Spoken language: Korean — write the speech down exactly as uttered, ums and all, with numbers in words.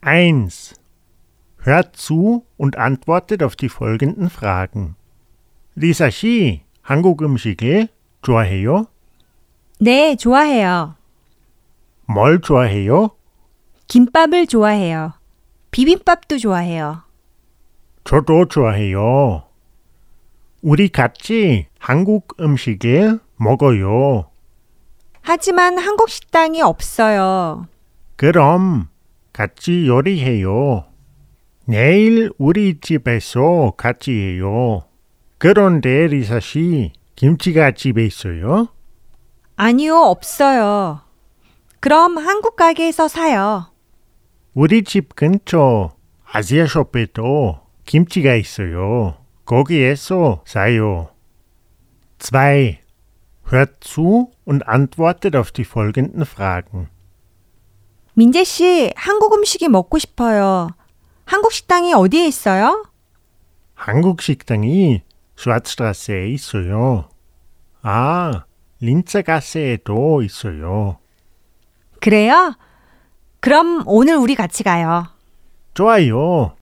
eins. Hört zu und antwortet auf die folgenden Fragen. 리사 씨, 한국 음식을 좋아해요? 네, 좋아해요. 뭘 좋아해요? 김밥을 좋아해요. 비빔밥도 좋아해요. 저도 좋아해요. 우리 같이 한국 음식을 먹어요. 하지만 한국 식당이 없어요. 그럼 같이 요리해요. 내일 우리 집에서 같이 해요. 그런데 리사 씨, 김치가 집에 있어요? 아니요, 없어요. 그럼 한국 가게에서 사요. 우리 집 근처 아시아숍에도 김치가 있어요. 거기에서 사요. zwei. Hört zu und antwortet auf die folgenden Fragen. 민재 씨, 한국 음식이 먹고 싶어요. 한국 식당이 어디에 있어요? 한국 식당이 Schwarzstraße에 있어요. 아, 린츠가세에도 있어요. 그래요? 그럼 오늘 우리 같이 가요. 좋아요.